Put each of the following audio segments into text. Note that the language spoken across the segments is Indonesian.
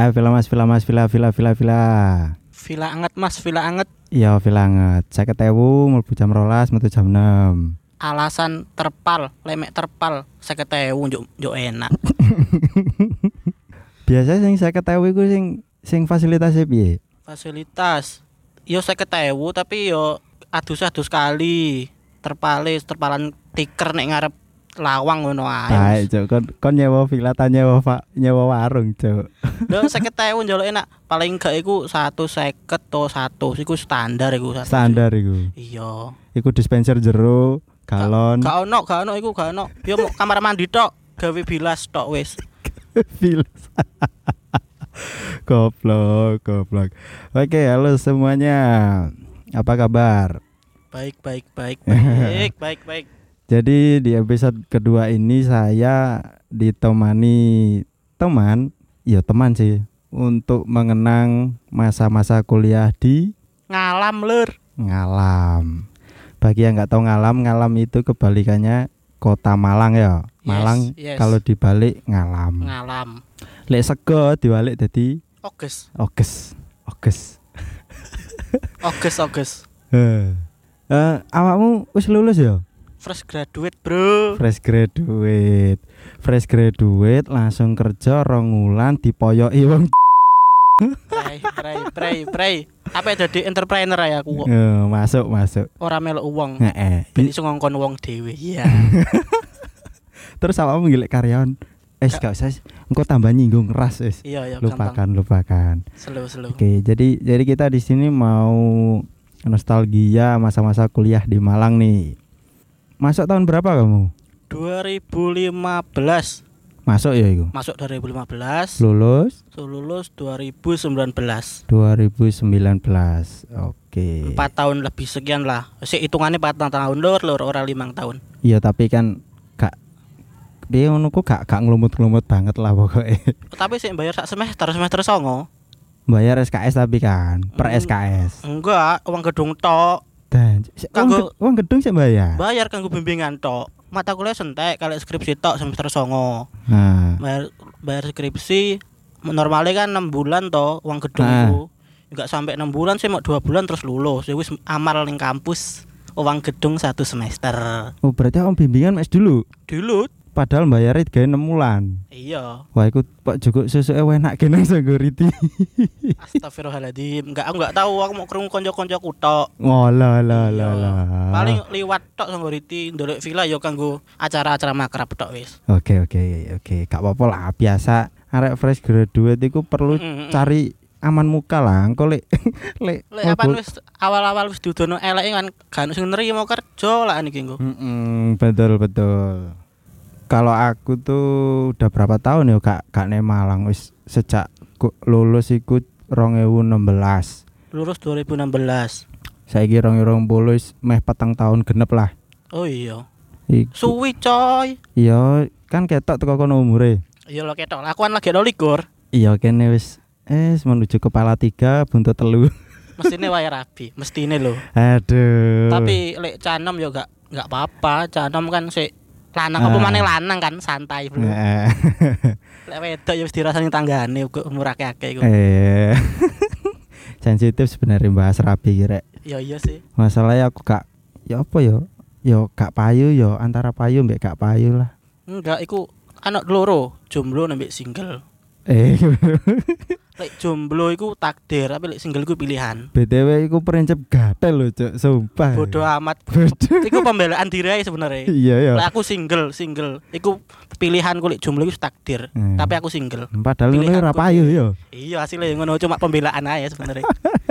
Ayo villa mas, villa mas, villa. Villa anget Mas, villa anget. Iya villa anget. 50.000 mlebu jam 12, metu jam 6. Alasan terpal, lemek terpal 50.000 njuk enak. Biasa sing 50.000 iku sing fasilitasnya piye? Fasilitas yo 50.000 tapi yo adus-adus kali. Terpalan tiker nek ngarep lawang ngono ae. Baik, Cuk. Kon nyewa villa ta nyewa warung, Cuk. Lho 50.000 njaluk enak. Paling gak iku 150 to 100 iku standar iku. Standar iku. Iya. Iku dispenser jero, galon. Gak ono iku gak ono. Yo mau kamar mandi tok, gawe bilas tok wis. Bilas. Goblok. Oke, halo semuanya. Apa kabar? Baik. Jadi di episode kedua ini saya ditemani teman sih untuk mengenang masa-masa kuliah di Ngalam lur. Ngalam. Bagi yang nggak tahu Ngalam itu kebalikannya Kota Malang ya. Malang yes. Kalau dibalik Ngalam. Lek sego dibalik jadi Oges. Awakmu wis lulus ya? Fresh graduate, Bro. Fresh graduate langsung kerja 2 wulan dipoyoki wong. Pray. Apa jadi entrepreneur ya aku kok. Masuk. Ora melok uang. Heeh. Ben iso ngongkon wong dhewe. Iya. Terus awakmu golek karyawan. Gak usah. Engko tambah nyinggung ras wis. Iya, lupakan. Slow. Oke, jadi kita di sini mau nostalgia masa-masa kuliah di Malang nih. Masuk tahun berapa kamu? 2015. Masuk ya itu? Masuk 2015. Lulus 2019. Oke. 4 tahun lebih sekian lah. Sik hitungannya 4 tahun lur ora 5 tahun. Iya, tapi kan gak piye ngono ku gak nglumut-nglumut banget lah pokoknya. Tapi sik bayar sak semester 9. Bayar SKS tapi kan per SKS. Enggak, uang gedung tok. Dan uang gedung sih bayar. Bayar kanggo bimbingan tok. Mata kuliah sentek kalau skripsi tok semester 9. Nah, bayar skripsi normalnya kan 6 bulan toh uang gedung itu. Enggak sampai 6 bulan sih, mau 2 bulan terus lulus. Wis amal ning kampus uang gedung 1 semester. Oh, berarti om bimbingan mes dulu. Padahal bayarnya 6 bulan. Iya. Wah, ikut Pak Joko susuke enak kene security. Astagfirullahaladzim. Enggak tahu, aku mau krungu kanca-kancaku tok. Oh lah. Paling liwat tok security ndelok villa ya kanggo acara-acara makrab tok wis. Oke. Gak apa-apa lah, biasa arek fresh graduate iku perlu cari aman muka lah. Engko lek apa wis awal-awal wis dudono eleke kan gak sing nerima kerja lah niki engko. Betul. Kalau aku tuh udah berapa tahun ya gak nek Malang wis sejak lulus iku 2016. Lulus 2016. Saiki 2020 wis meh 4 tahun genep lah. Oh iya. Suwi coy. Iya, kan ketok teko kono umure. Iya lo ketok. Aku kan lagi 12. Iya kene wis menuju kepala 3 buntut 3. Mestine wae rabi, mestine lho. Aduh. Tapi lek canom yo gak apa-apa. Canom kan sik lanang apa maneh lanang kan santai bro. Lek wedok ya wis dirasani tanggane umur akeh-akeh iku. Sensitif sebenarnya bahas rabi rek. Iya sih. Masalahnya aku gak ya apa ya? Yo gak payu yo antara payu mbek gak payu lah. Enggak, iku anak loro, jomblo mbek single. Lek jomblo iku takdir, tapi lek single iku pilihan. BTW iku prinsip gatel lho, Cuk, sumpah. Bodoh amat. Iku pembelaan diri ae sebenarnya. Iya. Lek aku single. Iku pilihanku lek jomblo iku takdir, tapi aku single. Padahal ngono ora payu yo. Iya, hasilnya ngono cuma pembelaan ae sebenarnya.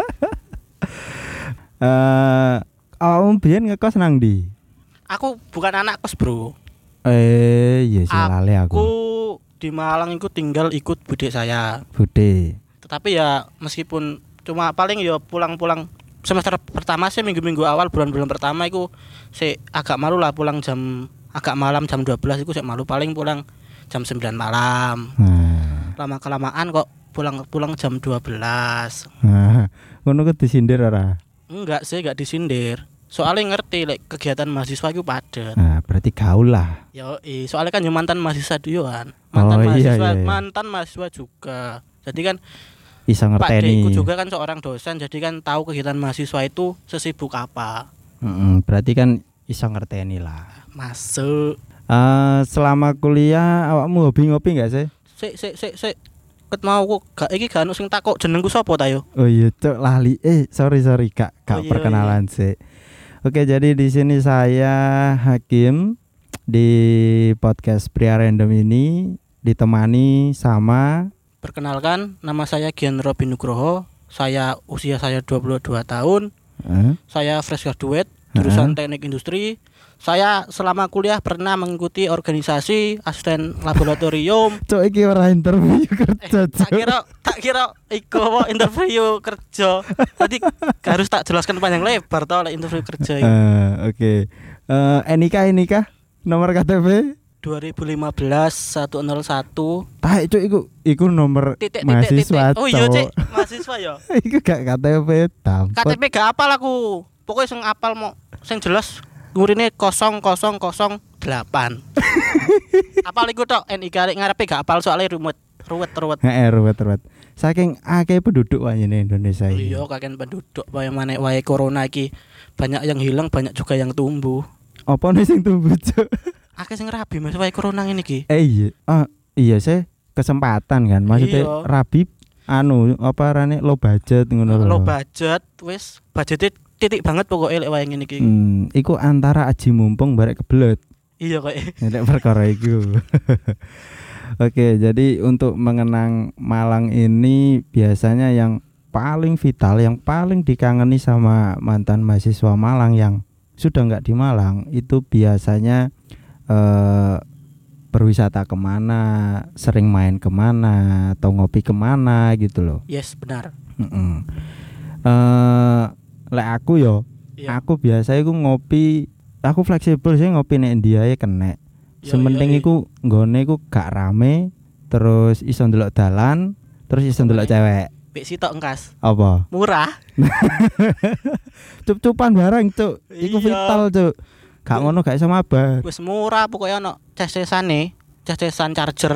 Awakmu biyen ngekos nang ndi? Aku bukan anak kos, Bro. Iya sih lali aku. Aku di Malang itu tinggal ikut bude saya. Tetapi ya meskipun cuma paling ya pulang-pulang semester pertama sih minggu-minggu awal bulan-bulan pertama itu sih agak malu lah pulang agak malam jam 12 itu sih malu, paling pulang jam 9 malam. Lama-kelamaan kok pulang jam 12. Ngono ku disindir ora? Enggak sih, enggak disindir. Soalnya ngerti kegiatan mahasiswa itu padat. Nah, berarti gaul lah. Yo, soalnya kan yo mantan mahasiswa dulu kan. Mantan mahasiswa Mantan mahasiswa juga. Jadi kan iso Pak ngerteni. Deku juga kan seorang dosen, jadi kan tahu kegiatan mahasiswa itu sesibuk apa. Berarti kan iso ngerteni lah. Masuk. Selama kuliah awakmu hobi ngopi gak sih? Sik. Ket mau kok gak iki gak ono sing takok jenengku sapa ta yo? Oh iya, cuk lali. Sorry Kak, Oh, iya, perkenalan sih. Oke, jadi di sini saya Hakim di podcast Pria Random ini ditemani sama Perkenalkan, nama saya Gian Robin Nugroho. Usia saya 22 tahun. Saya fresh graduate jurusan Teknik Industri. Saya selama kuliah pernah mengikuti organisasi asisten laboratorium. Cuk iki ora interview kerja. Tak kira iku interview kerja. Tadi harus tak jelaskan panjang lebar toh oleh interview kerja. Oke. Nikah nomor KTP 2015 101. Taek cuk iku nomor mahasiswa. Oh iya cek, mahasiswa ya. Iku gak KTP tampot. KTP gak apal aku. Pokoknya sing apal mau sing jelas ngurine 0008. Apal iku tok, NIK arek ngarepe gak apal soalnya ruwet. Ruwet. Saking akeh penduduk wae ning Indonesia iki. Iya, kakek penduduk wae maneh wae corona iki. Banyak yang hilang, banyak juga yang tumbuh. Apa nih sing tumbuh, Cuk? Akeh sing rabi Mas wae corona ngene iki. Iya sih kesempatan kan. Maksudnya Iya. rabi apa rane low budget ngono lho. Low budget wis budgete titik banget pokoknya lek wae ngene iki. Iku antara aji mumpung barek kebelet. Iya kok. Nek perkara iku. Oke, jadi untuk mengenang Malang ini biasanya yang paling vital, yang paling dikangeni sama mantan mahasiswa Malang yang sudah nggak di Malang itu biasanya berwisata kemana, sering main kemana, atau ngopi kemana gitu loh. Yes, benar. Lek aku yo, Iya. aku biasa iku ngopi, aku fleksibel sih ngopi nek India ya kena. Sementing iku nggone iku gak rame, terus iso ndelok dalan, terus iso ndelok cewek. Pik sitok engkas. Apa? Murah. Cup-cupan barang, Cuk. Iku Iya. vital, Cuk. Gak ngono gak iso mabah. Wis murah pokoknya ono ces-cesane, ces-cesan charger.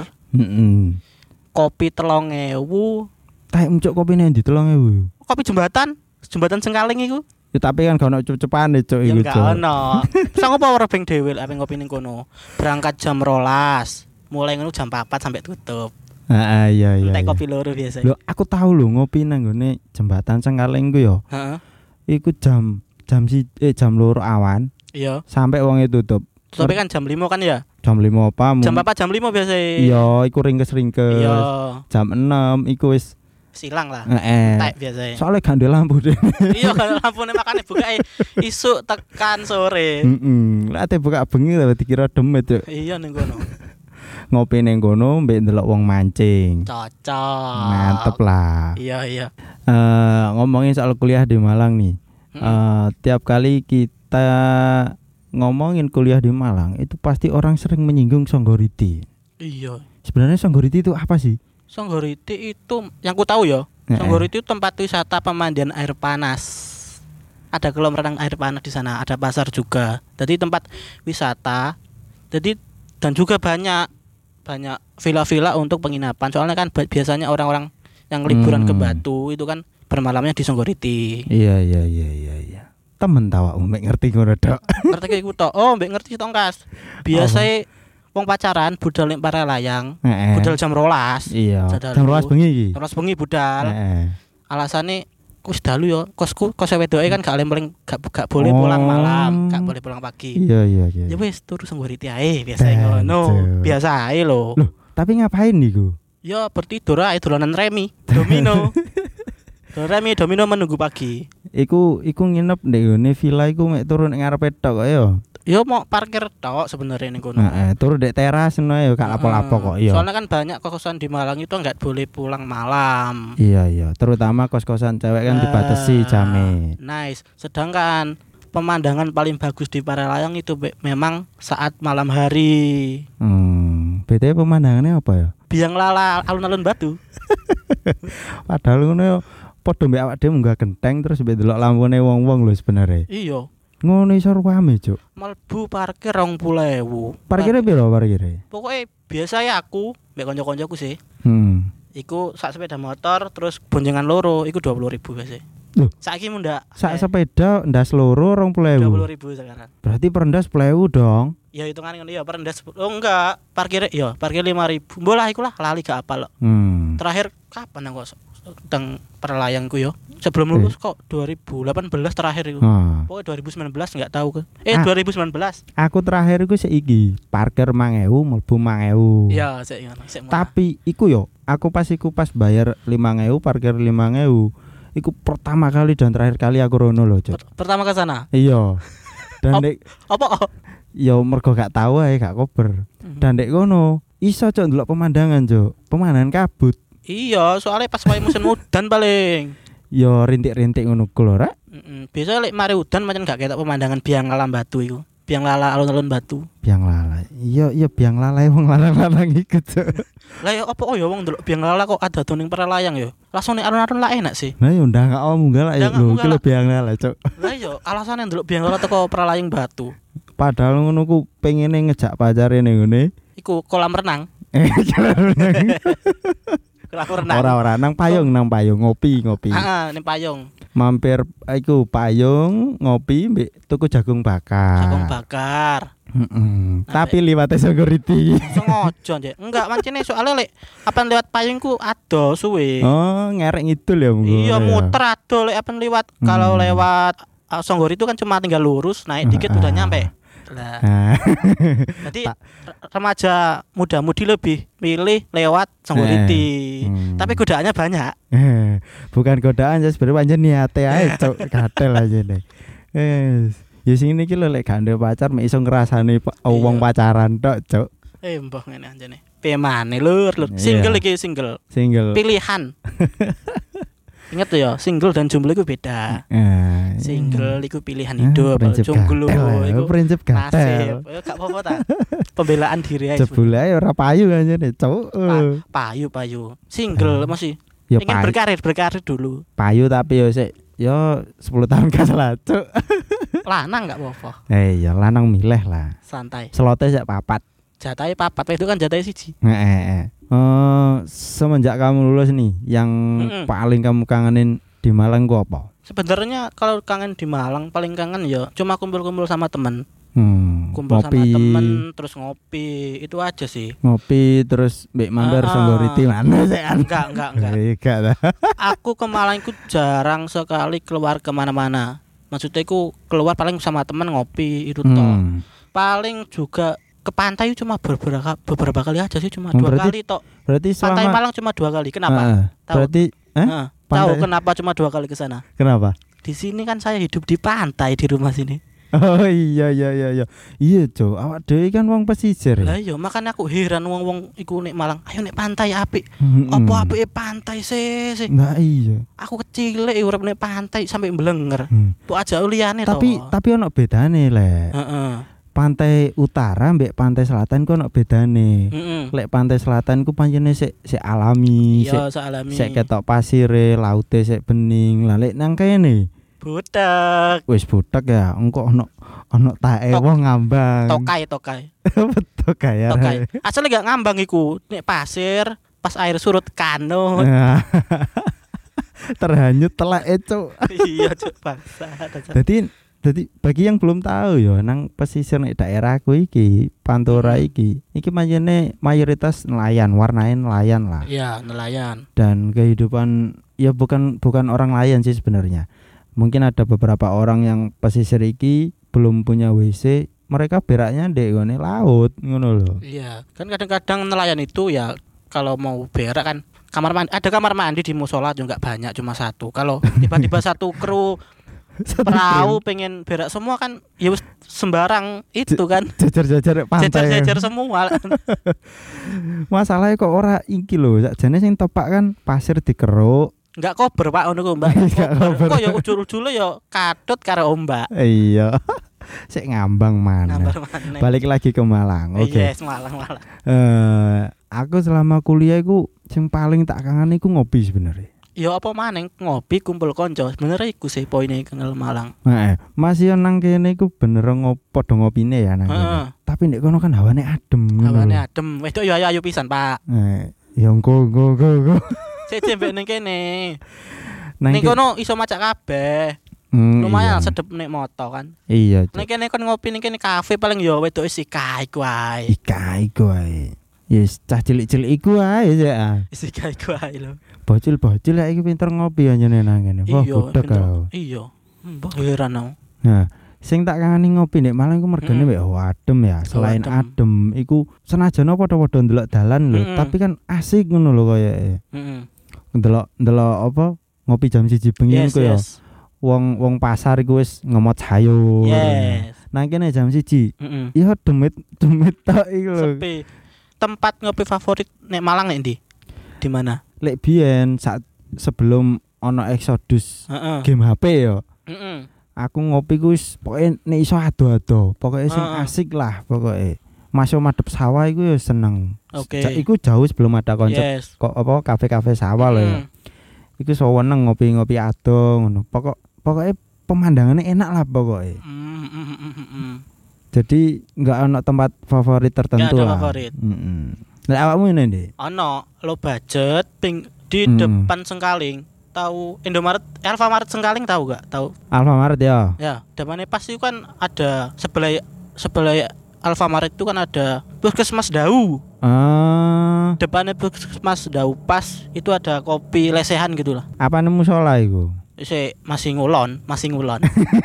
Kopi 3.000. Taek muncuk kopi nek ndi 3.000. Kopi jembatan Sengkaling iku. Ya tapi kan gak ono cup-cupane, Cuk Ya iku, enggak Cuk. ono. Sang apa ora beng dhewe lek ngopi ning kono. Berangkat jam 12. Mulai ngono jam 4 sampai tutup. Iya. Entek kopi loro biasa. Lho, aku tahu lho ngopi nang nggone jembatan Sengkaling ku yo. Heeh. Iku jam 2 awan Iya. sampai wonge tutup. Tapi kan jam 5 kan ya. Jam 5 apa? Jam 4 jam 5 biasa. Iya, iku ringkes-ringkes. Iya. Jam 6 iku wis Silang lah. Entek Entek biasa. Soalnya gak ada lampu deh. Iya kan lampune makane buka isuk tekan sore. Lah ate buka bengi tapi dikira demet, Cuk. Iya ning kono. Ngopi ning kono mbek ndelok wong mancing. Cocok. Mantep lah. Iya. Ngomongin soal kuliah di Malang nih. Tiap kali kita ngomongin kuliah di Malang itu pasti orang sering menyinggung Songgoriti. Iya. Sebenarnya Songgoriti itu apa sih? Songgoriti itu yang ku tahu ya. Songgoriti itu tempat wisata pemandian air panas. Ada kolam renang air panas di sana, ada pasar juga. Jadi tempat wisata. Jadi dan juga banyak villa-villa untuk penginapan. Soalnya kan biasanya orang-orang yang liburan ke Batu itu kan bermalamnya di Songgoriti. Iya. Temen tawa mbek ngerti ngono tok. Ngerti iku tok. Oh, mbek ngerti tok, biasanya wong pacaran budal ning Paralayang. Budal jam 12. Iya. Jadalu. Jam 12 bengi iki. Jam 12 bengi budal. Alasane wis dalu ya, kosku wedoke kan gak boleh pulang malam, gak boleh pulang pagi. Iya. Ya wis turu Songgoriti ae biasa ngono. Biasa ae lho. Loh, tapi ngapain niku? Ya bertidur ae dolanan remi, domino. Domino menunggu pagi. Iku nginep ndek ngene villa iku mek turu ning ngarepe tok kok ya. Ya mau parkir tok sebenarnya ning kono. Turu ndek teras ngono ya gak lapo-lapo kok ya. Soalnya kan banyak kos-kosan di Malang itu enggak boleh pulang malam. Iya, terutama kos-kosan cewek kan dibatasi jame. Nice. Sedangkan pemandangan paling bagus di Paralayang itu memang saat malam hari. BTW pemandangannya apa ya? Biang lala alun-alun Batu. Padahal ngono ya padha mbek awak dhewe munggah genteng terus mbek delok lampune wong-wong lho sebenarnya. Iya. Ngono iso rame, Cuk. Mlebu parkir 20.000. Parkirnya piro parkirnya? Pokoknya biasa ya aku mbek kanca-kancaku sih. Iku sak sepeda motor terus boncengan loro iku 20.000 biasa. Loh, saiki mundak sak sepeda ndas loro 20.000. 20.000 sekarang. Berarti perendas 10.000 dong. Ya hitungan ngono ya perendas. Oh enggak, parkir 5.000. Mbolah iku lah lali gak apal kok. Terakhir kapan aku teng Perlayangku yo. Sebelum lulus kok 2018 terakhir itu. Pokoknya 2019 enggak tahu ke. 2019. Aku terakhir iku iki parkir 5.000 mlebu 5.000. Iya, sik ngono, sik. Tapi iku yo, aku pas bayar 5.000 parkir 5.000. Iku pertama kali dan terakhir kali aku rono lho, Cuk. Pertama ke sana. Iya. Dan dek apa? Yo mergo gak tahu ae, gak kober. Dan dek kono iso Cuk ndelok pemandangan, Cuk. Pemandangan kabut. Iya, soalnya pas wae musim udan paling. Yo rintik-rintik ngono ku lho, Rek. Biasa lek mari udan pancen gak ketok pemandangan biang lala batu iku. Biang lala alun-alun batu. Biang lala. Iya biang lala wong lanang-lanang iku, Cuk. Lah ya apa ya wong ndelok biang lala kok ada tuning Perlayang ya. Langsung ning alun-alun lah enak sih. Nah yo ndak gak munggah lah ya lho, iki lho biang lala, Cuk. Lah yo alasane ndelok biang lala teko Perlayang batu. Padahal ngono ku pengene ngejak pacare ning ngene. Iku kolam renang. Ora nang payung ngopi. Heeh, ning payung. Mampir iku payung ngopi mbek tuku jagung bakar. Tapi liwate security. Sengaja nje. Enggak mancene soalnya lek apan lewat payungku ado suwe. Oh, ngerek ngidul ya monggo. Iya, muter ado lek apan lewat. Kalau lewat Songgor itu kan cuma tinggal lurus, naik dikit udah nyampe. Lah. Jadi remaja muda-mudi lebih milih lewat Songgoriti. Tapi godaannya banyak. Bukan godaan ya sebenarnya pancen niate ae, Cuk. Gatel aja nih. Ya sing iki lho lek gak ndek pacar mek iso ngrasani wong pacaran tok, Cuk. Mbah ngene anjene. Piye maneh lur. Single iki single. Pilihan. Ingat tuh ya, single dan jomblo itu beda. Single itu pilihan hidup, jomblo itu prinsip gatel. Gak apa-apa ta. Pembelaan diri aja. Jebule ae ora payu anjene, Cuk. Payu. Single masih ingin berkarir dulu. Payu tapi yo sik yo 10 tahun kas lah, Cuk. Lanang gak apa-apa. Ya lanang milih lah. Santai. Selote sak papat. Jatahe papat, itu kan jatahe siji. Semenjak kamu lulus nih, yang paling kamu kangenin di Malang gua apa? Sebenarnya kalau kangen di Malang paling kangen ya cuma kumpul-kumpul sama temen. Kumpul ngopi. Sama temen terus ngopi, itu aja sih. Ngopi terus mbek mampir Songgoriti mana sih? Enggak. Aku ke Malang itu jarang sekali keluar kemana-mana. Maksudnya aku keluar paling sama temen ngopi itu toh. Paling juga ke pantai cuma beberapa kali aja sih, cuma 2 kali tok. Berarti pantai Malang cuma 2 kali. Kenapa? Berarti tahu kenapa cuma 2 kali ke sana? Kenapa? Di sini kan saya hidup di pantai di rumah sini. Oh iya. Iya, Cuk. Awak dhewe kan wong pesisir. Lah iya, makanya aku heran wong-wong iku nek Malang, ayo nek pantai apik. Apa apike pantai sih? Nah iya. Aku kecil urip nek pantai sampai mblenger. Tuh aja liyane to. Tapi ono bedane, Lek. Pantai utara mbek pantai selatan ku ono bedane. Lek pantai selatan ku pancene sik alami, sik ketok pasire, laute sik bening. Lah lek nang kene butek. Wis butek ya, engko ono tae wong ngambang. Tokai. Tokai. Asale gak ngambang iku, nek pasir, pas air surut kano. Terhanyut telake, Cuk. Iya, Cuk, bangsa. Jadi bagi yang belum tahu ya, nang pesisir nek daerahku iki, Pantura iki pancene mayoritas nelayan, warnae nelayan lah. Iya, nelayan. Dan kehidupan ya bukan orang nelayan sih sebenarnya. Mungkin ada beberapa orang yang pesisir iki belum punya WC, mereka beraknya di ngene laut ngono lho. Iya, kan kadang-kadang nelayan itu ya kalau mau berak kan ada kamar mandi di musola juga banyak, cuma 1. Kalau tiba-tiba satu kru perahu pengen berak semua kan ya sembarang itu kan jajar pantai jajar semua. Masalahnya kok ora iki lho, sakjane sing tepak kan pasir dikeruk. Enggak kober Pak ngono ku, Mbak. Kok ya ujul-ujule ya kadut karo ombak. Iya. Sik ngambang mana. Balik lagi ke Malang. Oke. Yes, Malang. Aku selama kuliah iku sing paling tak kangen iku ngopi sebenarnya. Ya apa maneng ngopi kumpul konco. Sebenarnya iku sih poine kenal Malang. Masih nang kene iku bener padha ngopine ya nang kene. Tapi nek kono kan hawane adem. Wedok ya ayu pisan, Pak. Ya engko. Sik mbek ning kene. Nang Ning kono iso macak kabeh. Lumayan sedep nek moto kan. Iya. Nek kene kon ngopi ning kene kafe paling ya wedoke Sika iku ae. Iku ae. Yes, cah cilik-cilik iku ae ya. Sika iku ae lho. Bocil-bocil iki pinter ngopi anjene nang kene. Wah, gudeg kau. Iya. Mbah heran aku. Nah, sing tak kangeni ngopi nek Malang iku mergane mek adem ya. Selain adem iku senajan padha-padha ndelok dalan lho, tapi kan asik ngono lho koyoke. Heeh. Ndelok apa ngopi jam 1 bengi iku ya. Wong pasar iku wis ngemot sayur. Yes. Nang kene jam 1. Ya demit tok iku lho. Sepi. Tempat ngopi favorit nek Malang nek ndi? Di mana? Lek biyen saat sebelum ono Exodus game HP ya. Aku ngopi ku wis pokoke nek iso ado-ado, pokoke sing asik lah pokoke. Masuk madhep sawah iku ya seneng. Iku jauh sebelum ada konsep kok apa kafe-kafe sawah lho ya. Iku seneng ngopi-ngopi ado ngono. Pokoke pemandangannya enak lah pokoke. Jadi enggak ono tempat favorit tertentu lah. Favorit. Nek awakmu ngene ndi? Ono low budget di depan Sengkaling. Tahu Indomaret, Alfamaret Sengkaling tahu gak? Tahu. Alfamaret ya. Ya, depannya pas itu kan ada sebelah Alfamaret itu kan ada Puskesmas Dau. Depannya Puskesmas Dau pas itu ada kopi lesehan gitu lah. Apa nemu musola iku? Masih ngulon. Masih ngulon.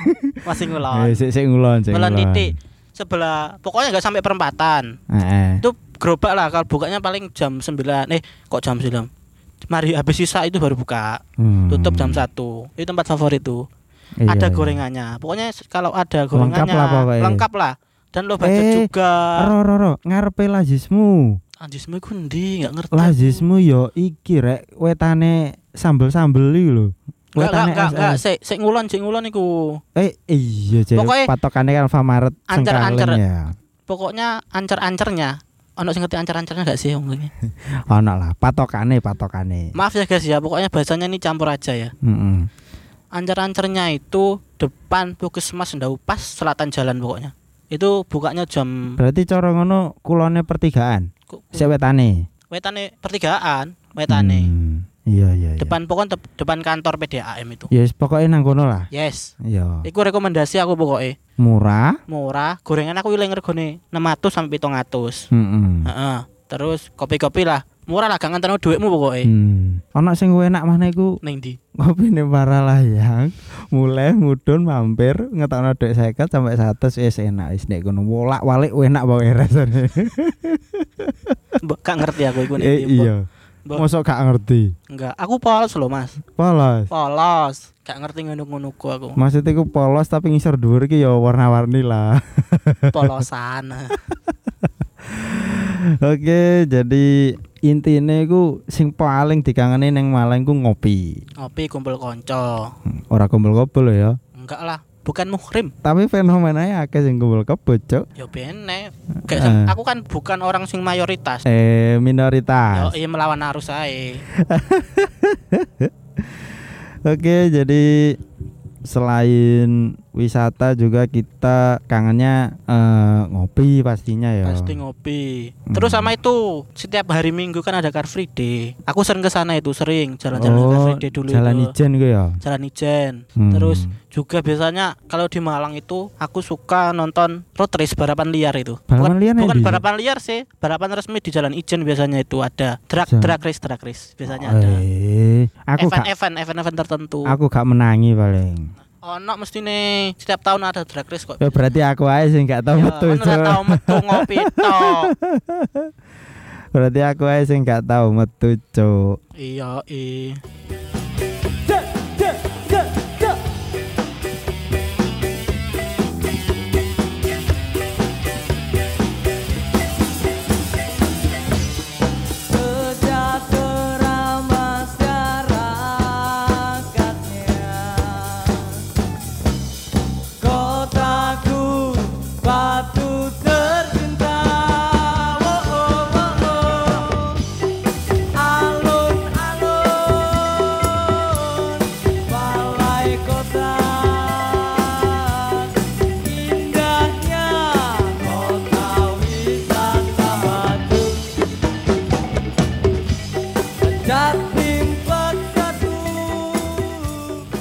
Sik ngulon. Ngulon titik sebelah, pokoknya enggak sampai perempatan. Itu gerobak lah, kalau bukanya paling jam 9. Kok jam 9? Mari habis sisa itu baru buka. Tutup jam 1. Itu tempat favorit tuh. Ada gorengannya. Pokoknya kalau ada gorengannya lengkap lah. Dan lo budget juga. Roro, ngarepe lazismu. Lazismu iku ndi? Enggak ngerti. Lazismu yo iki rek wetane sambel-sambel iki lho. Enggak, sik ngulon iku. Iya, Cek. Patokane kan Alfamaret Sengkaling ya. Pokoknya ancer-ancernya. Ono sing ngerti ancer-ancernya enggak sih wong iki? Ono lah, patokane. Maaf ya guys ya, pokoknya bahasanya ini campur aja ya. Ancer-ancernya itu depan Puskesmas Ndau pas selatan jalan pokoknya. Itu bukanya jam. Berarti cara ngono kulone pertigaan. Sik wetane. Wetane pertigaan, wetane. Iya. Depan kantor PDAM itu. Yes, pokoknya nang kono lah. Yes. Iya. Iku rekomendasi aku pokoknya. Murah. Gorengan aku wiling regane 600 sampai 700. Terus kopi-kopi lah. Murah lah, gak nganterno dhuwitmu pokoknya. Ana sing enak maneh iku. Ning ndi? Kopine Paralayang. Mulai mudhun mampir ngetokno dhuwit 50 sampai 100 wis enak wis nek kono. Wolak-walik enak pokoke rasane. Gak ngerti aku iku nek iya. Mosok gak ngerti. Enggak, aku polos loh Mas. Polos. Gak ngerti ngono-ngono aku. Maksudnya aku polos tapi ngisor dhuwur iki ya warna-warni lah. Polosan. Oke, jadi intine iku sing paling dikangeni ning Malang ku ngopi. Ngopi kumpul kanca. Ora kumpul-kumpul ya. Enggak lah, bukan muhrim. Tapi fenomenanya akeh sing kumpul kebo, Cuk. Ya bener. Aku kan bukan orang sing mayoritas. Minoritas. Yo, melawan arus ae. Oke, jadi selain wisata juga kita kangennya ngopi pastinya ya. Pasti ngopi. Terus sama itu setiap hari Minggu kan ada Car Free Day. Aku sering ke sana itu, sering jalan-jalan Car Free Day dulu. Jalan Ijen gue ya. Jalan Ijen. Terus juga biasanya kalau di Malang itu aku suka nonton road race balapan liar itu. Bukan balapan liar sih, balapan resmi di Jalan Ijen biasanya itu ada. Drag race biasanya ada. Event tertentu. Aku gak menangi paling. Ono mesti nih setiap tahun ada drag race kok. Ya berarti aku aja sih gak tahu metu. Ora tahu metu ngopi tok. Berarti aku aja sih gak tahu metu, Cuk. Iya.